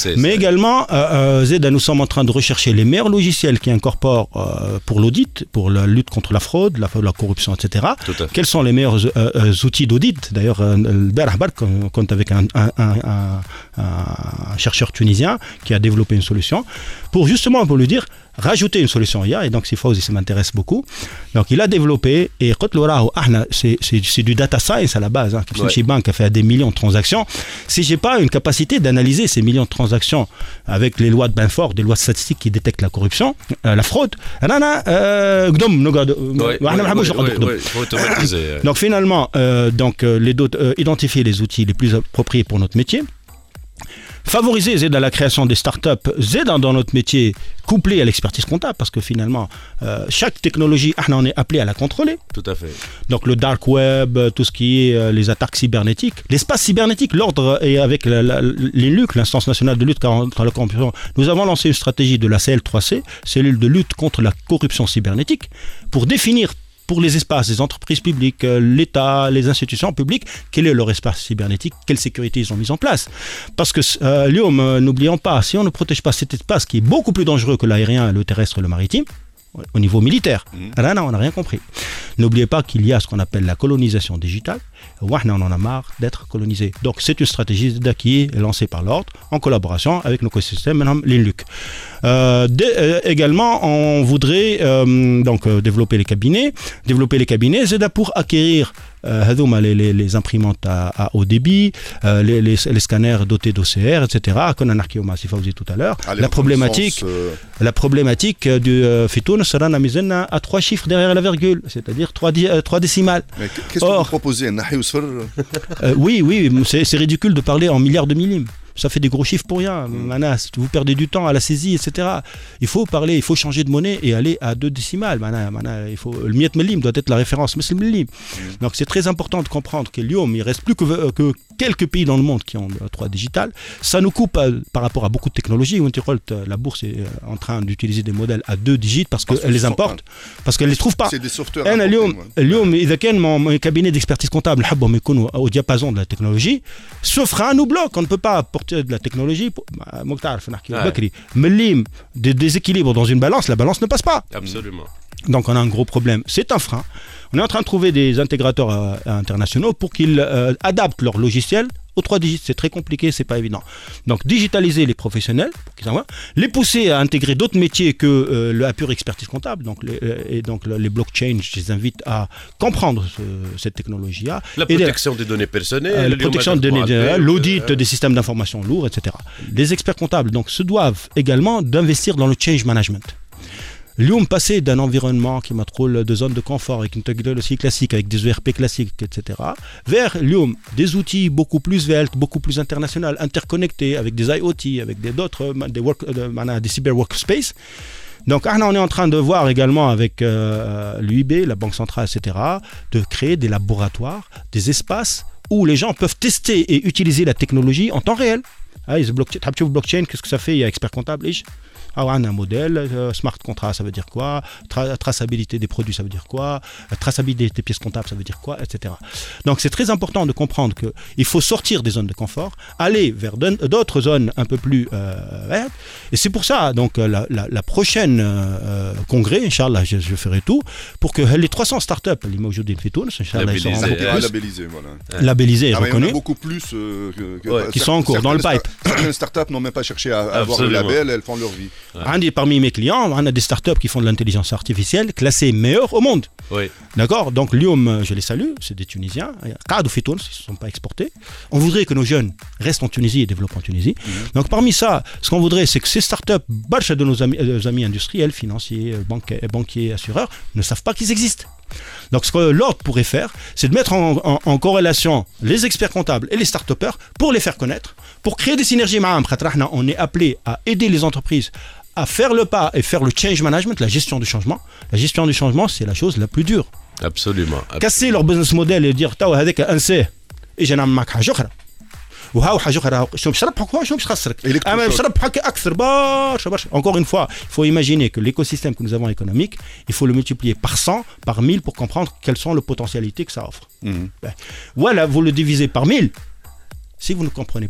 Mais également, Zeda, nous sommes en train de rechercher les meilleurs logiciels qui incorporent pour l'audit, pour la lutte contre la fraude, la corruption, etc. Quels sont les meilleurs outils d'audit? D'ailleurs, on compte avec un chercheur tunisien qui a développé une solution pour justement pour lui dire rajouter une solution IA, et donc c'est Fawzi, ça m'intéresse beaucoup. Donc il a développé, et c'est du data science à la base, hein, qui banque a fait des millions de transactions. Si j'ai pas une capacité d'analyser ces millions de transactions avec les lois de Benford, des lois statistiques qui détectent la corruption, la fraude, donc finalement identifier les outils les plus appropriés pour notre métier. Favoriser Zeda la création des startups, Zeda dans notre métier, couplé à l'expertise comptable, parce que finalement, chaque technologie, on est appelé à la contrôler. Tout à fait. Donc le dark web, tout ce qui est les attaques cybernétiques, l'espace cybernétique, l'ordre, et avec l'INLUC, l'instance nationale de lutte contre la corruption, nous avons lancé une stratégie de la CL3C, cellule de lutte contre la corruption cybernétique, pour définir pour les espaces, les entreprises publiques, l'État, les institutions publiques, quel est leur espace cybernétique, quelle sécurité ils ont mis en place. Parce que, n'oublions pas, si on ne protège pas cet espace qui est beaucoup plus dangereux que l'aérien, le terrestre et le maritime, au niveau militaire, là, on n'a rien compris. N'oubliez pas qu'il y a ce qu'on appelle la colonisation digitale. On en a marre d'être colonisé. Donc c'est une stratégie qui est lancée par l'ordre en collaboration avec nos écosystèmes, l'INLUC. Également, on voudrait développer les cabinets. C'est pour acquérir les imprimantes à haut débit, les scanners dotés d'OCR, etc. Qu'on a narqué tout à l'heure. La problématique du Fitoun sera à 3 chiffres derrière la virgule, c'est-à-dire 3 décimales. Mais qu'est-ce que vous proposez? Oui, c'est ridicule de parler en milliards de millim. Ça fait des gros chiffres pour rien. Vous perdez du temps à la saisie, etc. Il faut parler, il faut changer de monnaie et aller à 2 décimales. Le miet millim doit être la référence. Donc c'est très important de comprendre que l'IOM, il reste plus que quelques pays dans le monde qui ont 3 digitales. Ça nous coupe par rapport à beaucoup de technologies. La bourse est en train d'utiliser des modèles à 2 digits parce qu'elle les importe, parce qu'elle les trouve pas. C'est des softwares. اليوم إذا كان mon cabinet d'expertise comptable نحبهم يكونوا au diapason de la technologie, ce frein nous bloque. On ne peut pas apporter de la technologie. Des déséquilibres dans une balance, la balance ne passe pas. Absolument. Donc on a un gros problème. C'est un frein. On est en train de trouver des intégrateurs internationaux pour qu'ils adaptent leur logiciel aux 3 digits. C'est très compliqué, c'est pas évident. Donc digitaliser les professionnels, pour qu'ils envoient, les pousser à intégrer d'autres métiers que la pure expertise comptable. Donc les blockchains, je les invite à comprendre cette technologie-là. La protection des données personnelles, la protection des données, l'audit des systèmes d'information lourds, etc. Les experts comptables donc se doivent également d'investir dans le change management. L'IOM passé d'un environnement qui m'attroule de zones de confort avec une technologie classique, avec des ERP classiques, etc., vers l'IOM, des outils beaucoup plus veltes, beaucoup plus internationaux, interconnectés, avec des IoT, avec des cyber workspaces. Donc on est en train de voir également avec l'UIB, la Banque Centrale, etc., de créer des laboratoires, des espaces où les gens peuvent tester et utiliser la technologie en temps réel. Blockchain, qu'est-ce que ça fait? Il y a expert comptable. On a un modèle, smart contract, ça veut dire quoi? Traçabilité des produits, ça veut dire quoi? Traçabilité des pièces comptables, ça veut dire quoi? Etc. Donc c'est très important de comprendre qu'il faut sortir des zones de confort, aller vers d'autres zones un peu plus vertes. Et c'est pour ça, donc la prochaine congrès, Inch'Allah, je ferai tout pour que les 300 startups, les Mawjoudin fi Tunis, Inch'Allah, ils sont labellisés et reconnus. Il y en a beaucoup plus qui sont en cours, dans le pipe. Certaines startups n'ont même pas cherché à avoir le label, elles font leur vie. Parmi mes clients, on a des startups qui font de l'intelligence artificielle classées meilleures au monde. Oui. D'accord? Donc l'IOM, je les salue, c'est des Tunisiens. Ils ne se sont pas exportés. On voudrait que nos jeunes restent en Tunisie et développent en Tunisie. Donc parmi ça, ce qu'on voudrait, c'est que ces startups, barcha de nos amis industriels, financiers, banquiers, assureurs, ne savent pas qu'ils existent. Donc ce que l'ordre pourrait faire, c'est de mettre en corrélation les experts comptables et les start-upers pour les faire connaître, pour créer des synergies. On est appelé à aider les entreprises à faire le pas et faire le change management, la gestion du changement. La gestion du changement, c'est la chose la plus dure. Absolument. Casser leur business model et dire توا هذاك انساه اجي نعمل معك حاجه اخرى وهاو حاجه اخرى شنو باش نربحك شنو باش خسرك اما باش نربحك اكثر برشا. Encore une fois, il faut imaginer que l'écosystème que nous avons économique, il faut le multiplier par 100, par 1000 pour comprendre quelles sont les potentialités que ça offre. Voilà, vous le divisez par 1000. Si vous ne comprenez pas,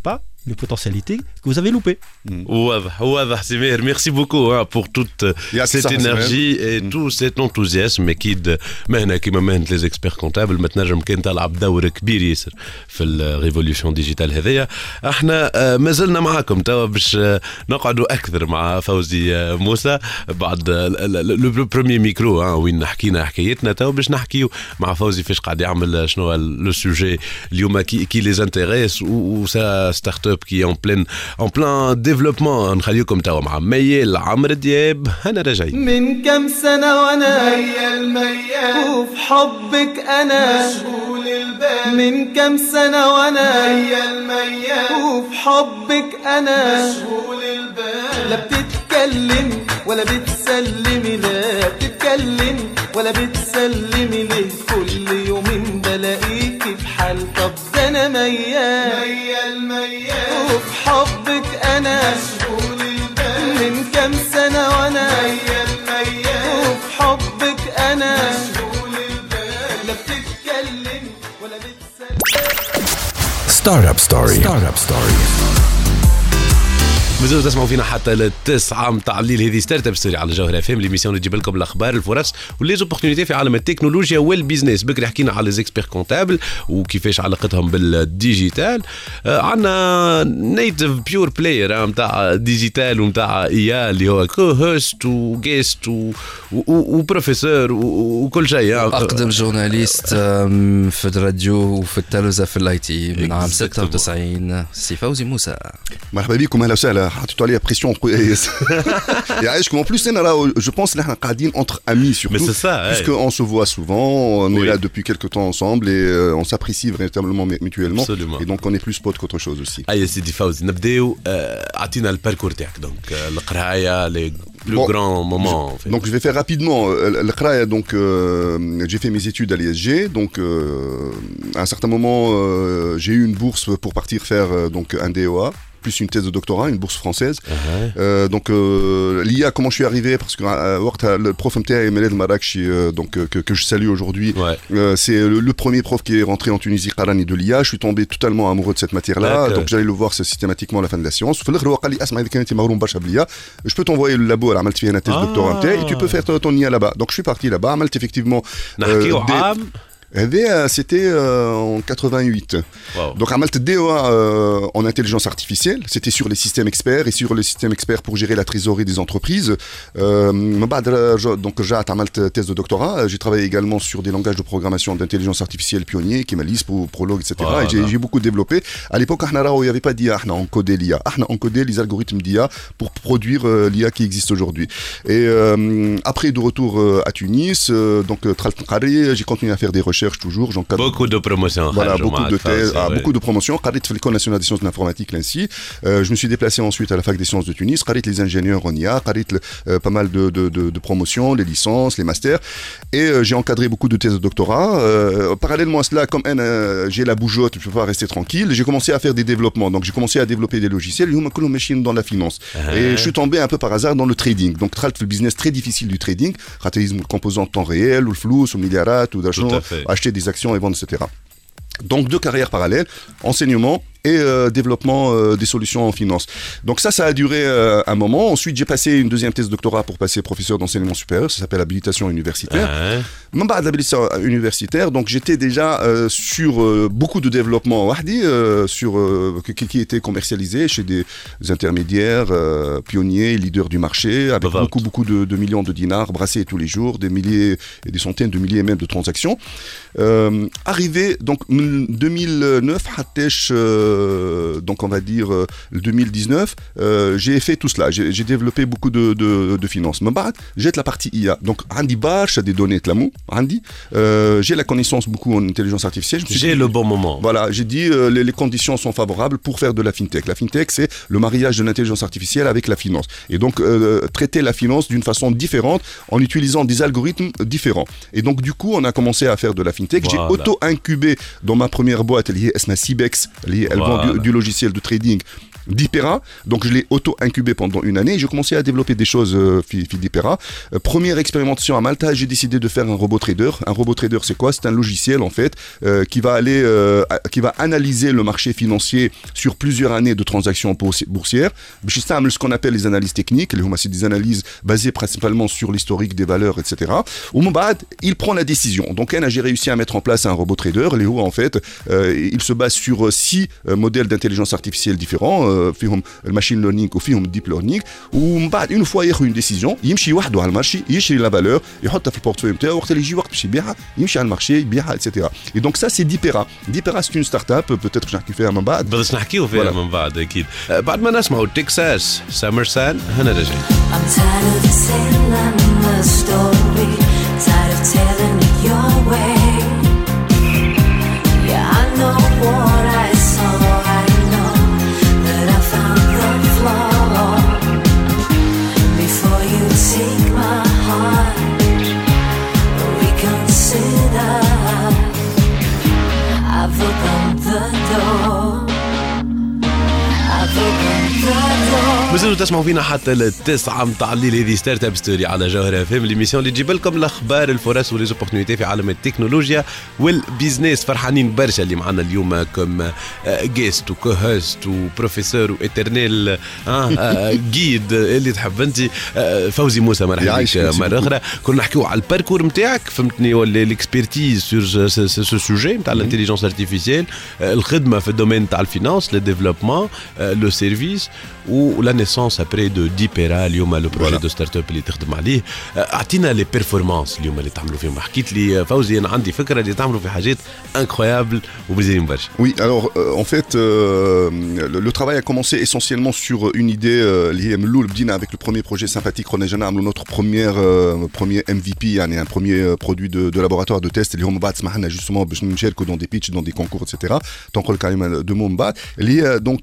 les potentialités que vous avez loupées. واضح سمير, merci beaucoup pour toute cette énergie et tout cet enthousiasme. اكيد مهنه كيما مهنه لي زيكسبير كونتابل ما تنجم كان تلعب دور كبير ياسر في الريفوليوشن ديجيتال هذيا. احنا ما زلنا معاكم توا باش نقعدوا اكثر مع فوزي موسى بعد لو بروميير ميكرو وين حكينا حكايتنا. توا باش نحكيو مع فوزي فاش قاعد يعمل شنو لو سوجي اليوم كي لي انتريس و سا ستارت اب كي اون بلان ديفلوبمون. نخليكم توا مع ميال عمرو دياب. انا راجعين من كم سنه وانا ميال وفي حبك انا مشغول البال. من كم سنه وانا ميال وفي حبك انا مشغول البال. لا بتتكلم ولا بتسلمي, لا بتتكلم ولا بتسلمي ليه كل يومين بلاقيكي في حال. طب ده انا ميال وفي حبك انا مشغول البال. من كم سنه وانا ميال وفي حبك انا مشغول البال. لا بتتكلم ولا بتسلم. ستارت اب ستوري. مازالوا تسمعوا فينا حتى للتسعة متاع الليل. هذه ستارت اب ستوري على جوهر اف ام, ليميسيون اللي تجيب لكم الاخبار الفرص وليزوبورتينيتي في عالم التكنولوجيا والبيزنس. بكري حكينا على ليزيكسبير كونتابل وكيفاش علاقتهم بالديجيتال. عندنا نيتيف بيور بلاير متاع ديجيتال ومتاع اي اللي هو كو هوست وجيست وبروفيسور وكل شيء. اقدم جورناليست في الراديو وفي التلفزه في الاي تي من عام 96. سي فوزي موسى. مرحبا بكم, اهلا وسهلا. حطيتوا عليا بريسيون يعيشكم. En plus انا je pense نحن قاعدين entre amis surtout. Mais c'est ça, puisque on se voit souvent, on est là depuis quelques temps ensemble et on s'apprécie véritablement mutuellement. Absolument. Et donc on est plus potes qu'autre chose aussi. اي سيدي فوزي نبداو. اعطينا الباركور تاعك. دونك القرايه لي بلو غران مومون. Donc je vais faire rapidement القرايه. Donc j'ai fait mes études à l'ISG. Donc à un certain moment j'ai eu une bourse pour partir faire donc un DEA plus une thèse de doctorat, une bourse française. Donc l'IA, comment je suis arrivé, parce que le prof MTA Meled Marakchi, donc que je salue aujourd'hui, c'est le premier prof qui est rentré en Tunisie, Qarani, de l'IA. Je suis tombé totalement amoureux de cette matière-là. Donc j'allais le voir systématiquement à la fin de la séance. Je peux t'envoyer le labo à la Malti, une thèse de doctorat MTA, et tu peux faire ton IA là-bas. Donc je suis parti là-bas, Malte effectivement. C'était en 88. Wow. Donc Amalte DEA en intelligence artificielle, c'était sur les systèmes experts et sur les systèmes experts pour gérer la trésorerie des entreprises. Donc j'ai Amalte thèse de doctorat. J'ai travaillé également sur des langages de programmation d'intelligence artificielle pionniers, Kemalist, Prolog, etc. Voilà. Et j'ai beaucoup développé. À l'époque, il n'y avait pas d'IA, on codait l'IA. On codait les algorithmes d'IA pour produire l'IA qui existe aujourd'hui. Et après, de retour à Tunis, donc j'ai continué à faire des recherches toujours. Beaucoup de promotions. Voilà, beaucoup de thèses, beaucoup de promotions. L'École nationale des sciences de l'informatique, l'ANSSI. Je me suis déplacé ensuite à la fac des sciences de Tunis. Les ingénieurs en IA, pas mal de promotions, les licences, les masters. Et j'ai encadré beaucoup de thèses de doctorat. Parallèlement à cela, comme j'ai la bougeotte, je ne peux pas rester tranquille. J'ai commencé à faire des développements. Donc j'ai commencé à développer des logiciels dans la finance. Et je suis tombé un peu par hasard dans le trading. Donc le business très difficile du trading. Le composant de temps réel, ou le flou, ou le milliarat, ou d'argent, acheter des actions et vendre, etc. Donc deux carrières parallèles, enseignement et développement des solutions en finance. Donc ça a duré un moment. Ensuite, j'ai passé une deuxième thèse de doctorat pour passer professeur d'enseignement supérieur. Ça s'appelle habilitation universitaire. L'habilitation universitaire, donc j'étais déjà sur beaucoup de développement sur qui était commercialisé chez des intermédiaires, pionniers, leaders du marché, avec beaucoup de millions de dinars brassés tous les jours, des milliers et des centaines de milliers même de transactions. Arrivé donc 2009, donc on va dire 2019, j'ai fait tout cela. J'ai développé beaucoup de finances. Mais j'ai la partie IA. Donc Andy Barch a des données de l'amour. Andy, j'ai la connaissance beaucoup en intelligence artificielle. J'ai le bon moment. Voilà, j'ai dit les conditions sont favorables pour faire de la fintech. La fintech, c'est le mariage de l'intelligence artificielle avec la finance. Et donc traiter la finance d'une façon différente en utilisant des algorithmes différents. Et donc du coup, on a commencé à faire de la fintech. J'ai auto-incubé dans ma première boîte liée à Cibex, elle vend du logiciel de trading d'Hypera. Donc je l'ai auto-incubé pendant une année et j'ai commencé à développer des choses d'Hypera. Première expérimentation à Malta, j'ai décidé de faire un robot trader. Un robot trader, c'est quoi? C'est un logiciel en fait qui va analyser le marché financier sur plusieurs années de transactions boursières. Ce qu'on appelle les analyses techniques, c'est des analyses basées principalement sur l'historique des valeurs, etc. Au moment il prend la décision. Donc j'ai réussi à mettre en place un robot trader. En fait, il se base sur 6 modèles d'intelligence artificielle différents. فيهم الماشين ليرنينغ وفيهم الديب ليرنينغ ومن بعد اون فوا ياخذ اون ديسيزيون يمشي وحده على المارشي يشري لا فالور يحطها في البورتفوي نتاعو وقت اللي يجي وقت باش يبيعها يمشي على المارشي يبيعها اتسيتيرا اي دونك سا سي ديبيرا سي اون ستارت اب بوتيتر باش نحكي فيها من بعد باش نحكيو فيها من بعد اكيد بعد ما نسمعوا تكساس سامر سان هنا رجع مازالوا تسمعوا فينا حتى التسعة متاع الليل. هذه ستارت اب ستوري على جوهرة فهم ليميسيون اللي تجيب لكم الاخبار الفرص وليزوبورتينيتي في عالم التكنولوجيا والبيزنس. فرحانين برشا اللي معنا اليوم كم جيست وكوهوست وبروفيسور واترنيل جيد اللي تحب انت فوزي موسى. مرحبا بك مرة اخرى. كنا نحكيو على الباركور نتاعك فهمتني ولا الاكسبيرتيز سور سو سوجي نتاع الانتيليجنس ارتيفيسيال الخدمة في الدومين تاع الفينانس لو ديفلوبمون لو سيرفيس ولا نيسونس ابري دو ديبيرا اليوم لو بروجي دو ستارت اب اللي تخدم عليه. اعطينا لي بيرفورمانس اليوم اللي تعملوا فيهم. حكيت لي فوزي انا عندي فكره اللي تعملوا في حاجات انكرويابل ومزيانين برشا. Oui, alors en fait le travail a commencé essentiellement sur une idée اللي هي من الاول بدينا avec le premier projet sympathique qu'on a نعملوا notre premier MVP يعني un premier produit de laboratoire de test اللي هم بعد سمحنا justement باش نشاركوا dans des pitch dans des concours etc. تنقل كلمه دو مون بعد اللي هي donc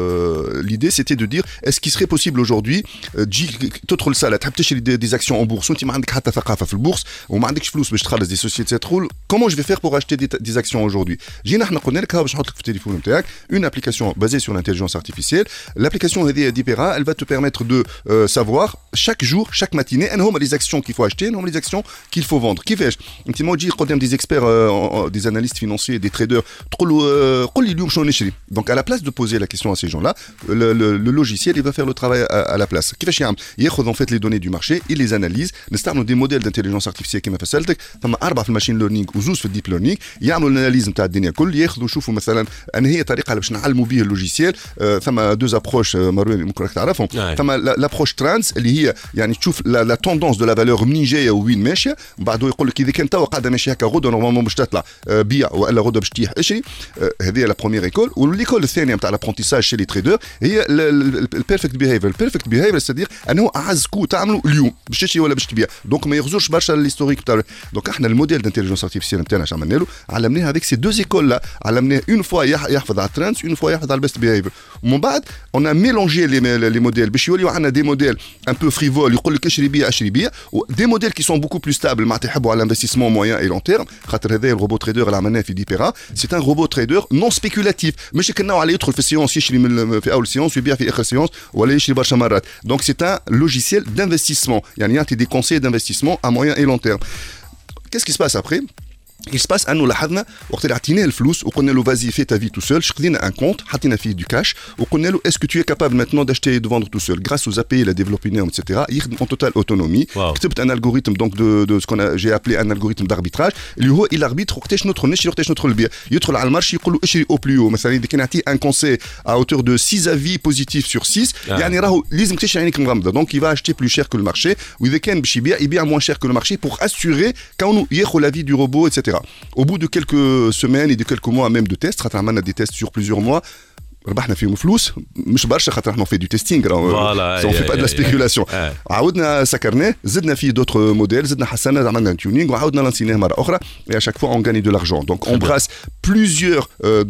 l'idée c'était de dire est-ce qu'il serait possible aujourd'hui تجي تدخل سالة تحب تشتري des actions en bourse وانت ما عندك حتى ثقافه في البورصه وما عندكش فلوس باش تخلص دي سوسيتي تقول comment je vais faire pour acheter des actions aujourd'hui. جينا احنا قلنا لك ها باش نحط لك في التليفون نتاعك une application basée sur l'intelligence artificielle. L'application هذه ديبيرا elle va te permettre de savoir chaque jour chaque matinée ان هما les actions qu'il faut acheter هما les actions qu'il faut vendre. كيفاش انت ما تجي قدام des experts des analystes financiers des traders تقول له قول لي اليوم شنو نشري. Donc à la place de poser la question à ces gens-là le logiciel il va faire le travail à la place. كيفاش يعمل ياخذ en fait les données du marché il les analyse. نستعملوا des modèles d'intelligence artificielle كما فسلتك ثم 4 في الماشين ليرنينغ وزوز في الديب ليرنينغ يعملوا الاناليز نتاع الدنيا كل ياخذوا يشوفوا مثلا ان هي طريقه باش نعلموا به اللوجيسيال. ثم دوز ابروش مروان ممكن راك تعرفهم. ثم لابروش ترانس اللي هي يعني تشوف لا توندونس دو لا فالور منين جايه وين ماشيه بعده يقول لك اذا كان توا قاعده ماشيه هكا غدوه نورمالمون باش تطلع بيع والا غدوه باش تطيح اشري. هذه لا بروميير ايكول. والايكول الثانيه نتاع لابرونتيساج شي لي تريدر هي البيرفكت بيهيفير. البيرفكت بيهيفير سيدير انه اعز كو تعملوا اليوم باش تشري ولا باش تبيع دونك ما يغزرش برشا الهيستوريك تاع. دونك احنا الموديل دانتيليجنس ارتيفيسيال نتاعنا اش عملنا له علمناه avec ces deux écoles là علمناه une fois يحفظ على الترانس une fois يحفظ على البيست بيهيفير. ومن بعد on a mélangé les modèles باش يوليو عندنا des modèles un peu frivoles يقول لك اشري بيع و des modèles qui sont beaucoup plus stables معناتها يحبوا على l'investissement moyen et long terme. خاطر هذا الروبوت تريدر اللي عملناه في ديبيرا c'est un robot trader non spéculatif مش كناو على يدخل في السيونس يشري في اول سيونس ويبيع في اخر سيونس ولا يشري برشا مرات. donc c'est un logiciel d'investissement يعني يعطي des conseils d'investissement à moyen et long terme. Qu'est-ce qui se passe après? Il se passe انه لاحظنا وقت اللي عطيناه الفلوس وقلنا له فازي في تا في تو سول خدينا ان كونت حطينا فيه دو كاش وقلنا له اسكو تو كابابل ماتنون داشتي دو فوندر تو سول غراس aux API la développé etc. يخدم en totale autonomie. كتبت ان الغوريثم donc de ce qu'on j'ai appelé un algorithme d'arbitrage اللي هو il arbitre وقتاش ندخل نشري وقتاش ندخل نبيع. يدخل على المارشي يقول له اشري او بلو مثلا اذا كان يعطيه ان كونساي à hauteur de 6 avis positifs sur 6 يعني راهو لازم تشري عينيك مغمضه. donc il va acheter plus cher que le marché واذا كان باش يبيع moins cher que le marché pour assurer كونه ياخذ l'avis du robot etc. Au bout de quelques semaines et de quelques mois même de tests خاطر عملنا des tests sur plusieurs mois ربحنا فيهم فلوس مش برشا خاطر احنا في دو تيستينغ سون في با دو لا سبيكولاسيون. عاودنا سكرناه زدنا فيه دوتر موديل زدنا حسنا عملنا تيونينغ وعاودنا لانسيناه مره اخرى et à chaque fois on gagne de l'argent. donc on brasse plusieurs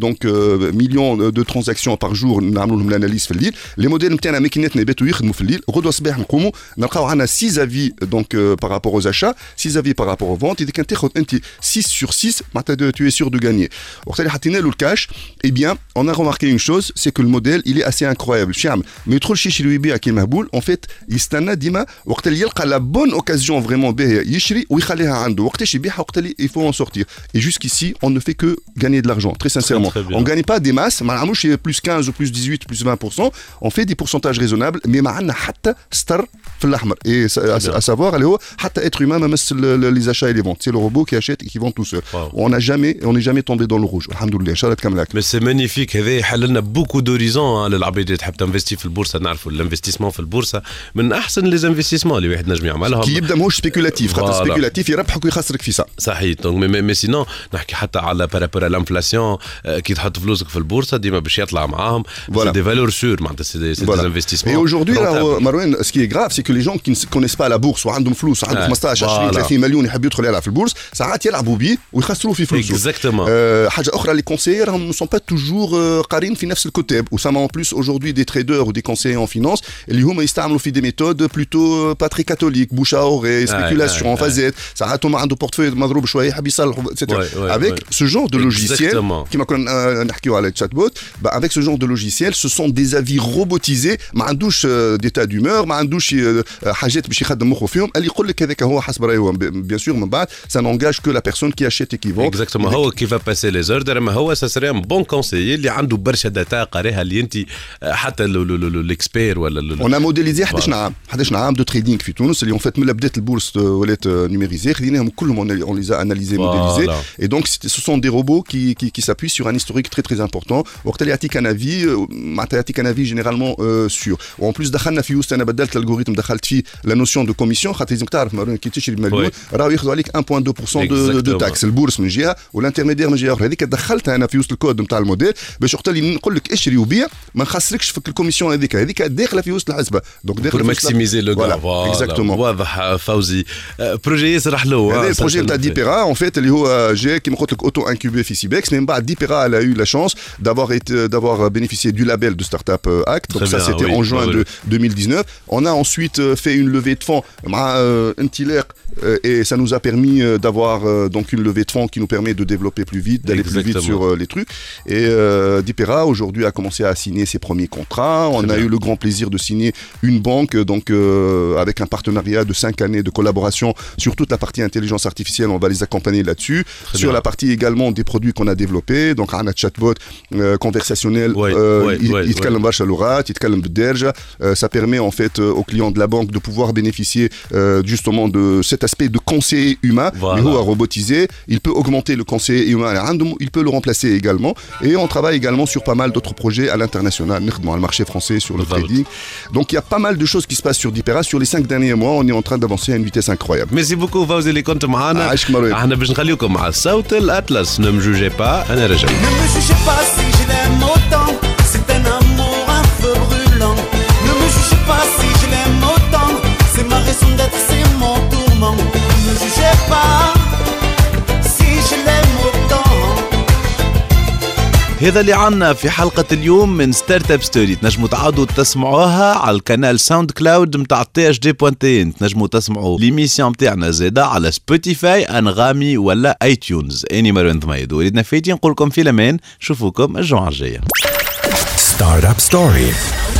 millions de transactions par jour نعملوا لهم الاناليز في الليل. لي موديل نتاعنا ماكيناتنا يباتوا يخدموا في الليل غدوه الصباح نقوموا نلقاو عندنا 6 avis donc par rapport aux achats 6 avis par rapport aux ventes. اذا كان تاخذ انت 6 sur 6 معناتها tu es sûr de gagner. وقت اللي حطينا له الكاش et bien on a remarqué une chose bourse, c'est que le modèle, il est assez incroyable. Mais il trouve chez Chilouibi qui Mahboul, en fait, il stana dima, وقت اللي يلقى la bonne occasion vraiment باهية يشري ويخليها عنده. وقتاش يبيعها وقت اللي il faut en sortir. Et jusqu'ici, on ne fait que gagner de l'argent, très sincèrement. Très on gagne pas des masses, ما نعملوش plus 15 ou plus 18 plus 20%, on fait des pourcentages raisonnables, mais ما عندنا حتى ستر في الأحمر. Et à savoir, اللي هو حتى être humain ما مس les achats et les ventes. C'est le robot qui achète et qui vend tout seul. On n'est jamais tombé dans le rouge. Alhamdoulilah, شارة كاملة. Mais c'est magnifique, هذا يحل لنا beaucoup d'horizons للعباد اللي تحب تنفستي في البورصة. نعرفوا الانفستيسمون في البورصة من أحسن les investissements اللي واحد نجم يعملهم. كي يبدأ ماهوش سبيكولاتيف، خاطر سبيكولاتيف يربحك ويخسرك في ساعة. صحيح. donc mais sinon نحكي حتى على بارابور à l'inflation كي تحط فلوسك في البورصة ديما باش يطلع معاهم. C'est des valeurs sûres, c'est des investissements. Et aujourd'hui, Marouane, ce qui est grave, c'est que les gens qui ne connaissent pas la bourse, ou عندهم فلوس, عندهم 15 20 30 مليون يحب يدخل يلعب في البورصة, ساعات يلعبوا بيه ويخسروا في فلوسه. Exactement. حاجة أخرى, les conseillers ne sont pas toujours قارين في نفس الكتاب. وسما en plus aujourd'hui des traders ou des conseillers en finance اللي هما يستعملوا في des méthodes plutôt pas très catholiques, bouche à oreille, spéculation, فازات. ساعات هما عنده portefeuille مضروب شوية يحب يصلحوا, etc. Avec ce genre de logiciel, كما كنا نحكيو على chatbot, avec ce genre de logiciel, ce sont des avis robotisés, ما عندوش d'état d'humeur, ما عندوش حاجات باش يخدم مخه فيهم, اللي يقول لك هذاك هو حسب رايه. Bien sûr, من بعد, ça n'engage que la personne qui achète et qui vend. Exactement. هو qui va passer les ordres, mais هو ça serait un bon conseiller اللي عنده برشا داتا قاريها اللي انت حتى l'expert ولا. On a modélisé 11 عام de trading في تونس اللي en fait من بدات البورصة ولات numérisée, خديناهم كلهم on les a analysés, modélisés. Et donc ce sont des robots qui s'appuient sur un historique très très important. وقت اللي يعطيك un avis, يعطيك un avis généralement sûr. وen plus دخلنا في وسط, انا بدلت الالغوريثم, دخلت فيه la notion de commission, خاطر لازم تعرف كي تشري بمليون راهو ياخذوا عليك 1.2% de taxe, البورصة من جهة والانترميدير من جهة أخرى. هذيك دخلتها انا في وسط الكود نتاع الموديل باش وقت اللي نقول لك اشري وبيع ما نخسركش في الكوميسيون هذيك داخله في وسط الحسبه. دونك داخل ماكسيميزي لو غاف. اكزاكتومون. واضح فوزي. بروجي ياسر حلو. هذا البروجي تاع ديبيرا ان فيت اللي هو جاي كيما قلت لك اوتو انكوبي في سيبكس. من بعد ديبيرا a eu la chance d'avoir bénéficié du label de Startup Act. Donc ça c'était en juin de 2019. On a ensuite fait une levée de fonds مع Intiler et ça nous a permis d'avoir donc une levée de fonds qui nous permet de développer plus vite, d'aller plus vite sur les trucs. Et Dipera aujourd'hui a commencé à signer ses premiers contrats. On a eu le grand plaisir de signer une banque donc avec un partenariat de 5 années de collaboration sur toute la partie intelligence artificielle. On va les accompagner là-dessus. Sur la partie également des produits qu'on a développés, donc un chatbot conversationnel, يتكلم برشا لغات, يتكلم بالدارجة. Ça permet en fait aux clients de la banque de pouvoir bénéficier justement de cet aspect de conseiller humain, mais robotisé. Il peut augmenter le conseiller humain, il peut le remplacer également. Et on travaille également sur pas mal d'autres projets à l'international, dans le marché français, sur le trading. Donc il y a pas mal de choses qui se passent sur Dipera. Sur les 5 derniers mois, on est en train d'avancer à une vitesse incroyable. Merci beaucoup فوزي اللي كنت معنا. احنا باش نخليكم مع الصوت الأطلس. Ne me jugez pas, أنا رجع. Ne me jugez pas si je l'aime autant, c'est un amour un feu brûlant. Ne me jugez pas si je l'aime autant, c'est ma raison d'être, c'est mon tourment. Ne me jugez pas si je l'aime autant. هذا اللي عنا في حلقة اليوم من ستارت اب ستوري. تنجموا تعاودوا تسمعوها على القناة ساوند كلاود متاع THD.in. تنجموا تسمعوا ليميسيون متاعنا زادا على سبوتيفاي, انغامي ولا اي تيونز. اني مروان ضميد وليدنا فايتين نقولكم في الامان. نشوفوكم الجمعة الجاية. ستارت اب ستوري.